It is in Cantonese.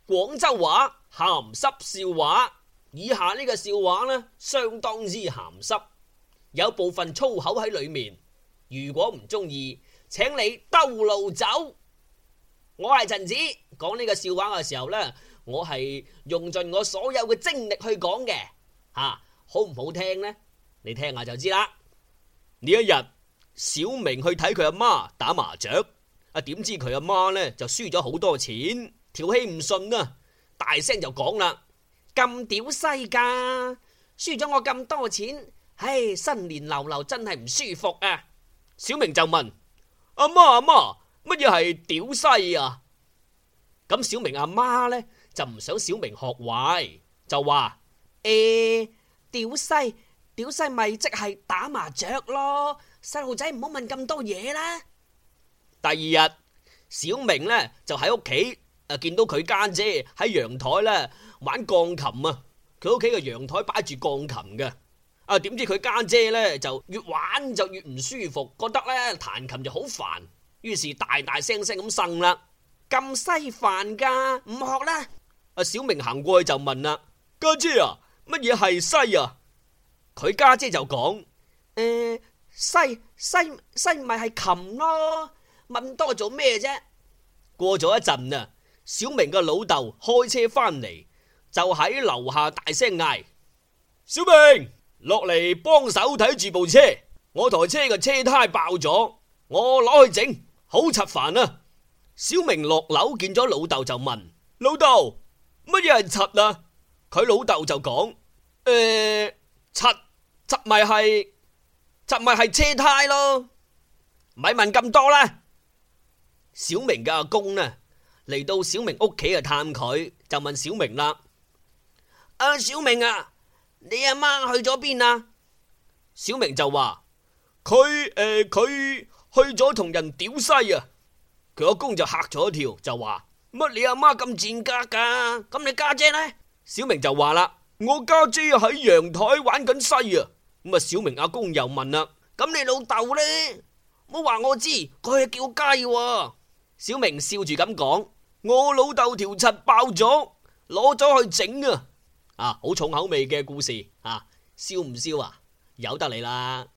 廣州話鹹濕笑話。以下呢個笑話呢，相當之鹹濕，有部分粗口喺裏面。如果唔中意，請你兜路走。我係陳子，講呢個笑話嘅時候呢，我係用盡我所有嘅精力去講嘅。好唔好聽呢？你聽下就知啦。呢一日，小明去睇佢阿媽打麻雀，點知佢阿媽呢就輸咗好多錢，條氣唔順啊，大聲就講啦：咁屌西噶，輸咗我咁多錢，唉，新年流流真係唔舒服啊！小明就問：阿媽，乜嘢係屌西啊？咁小明阿媽呢就唔想小明學壞，就話：屌西咪即係打麻雀咯，細路仔唔好問咁多嘢啦。第二日，小明呢就喺屋企見到佢家姐喺陽台呢玩鋼琴啊，佢屋企嘅陽台擺住鋼琴嘅。點知佢家姐呢就越玩就越唔舒服，覺得呢彈琴就好煩，於是大大聲聲咁呻啦：咁西煩噶，唔學啦！小明行過去就問啦：家姐啊，乜嘢係西啊？佢家姐就講：西咪係琴咯，問多做咩啫？過咗一陣啊，小明嘅老豆開車翻嚟，就喺樓下大聲嗌：小明，落嚟幫手睇住部車，我台車嘅車胎爆咗，我攞去整，好柒煩啊！小明落樓見咗老豆就問：老豆，乜嘢係柒啊？佢老豆就講：柒咪係車胎咯，咪問咁多啦。小明嘅阿公呢嚟到小明屋企去探佢，就問小明啦：小明啊，你阿媽去咗邊啊？小明就話：佢去咗同人屌西啊！佢阿公就嚇咗一跳，就話：乜你阿媽咁賤格噶？咁你家姐呢？小明就話啦：我家姐喺陽台玩緊西啊！咁小明阿公又問啦：咁你老豆呢？唔好話我知，佢係叫雞喎。小明笑住咁講：我老豆條柒爆咗，攞咗去整啊！好重口味嘅故事，笑唔笑啊？由得你啦。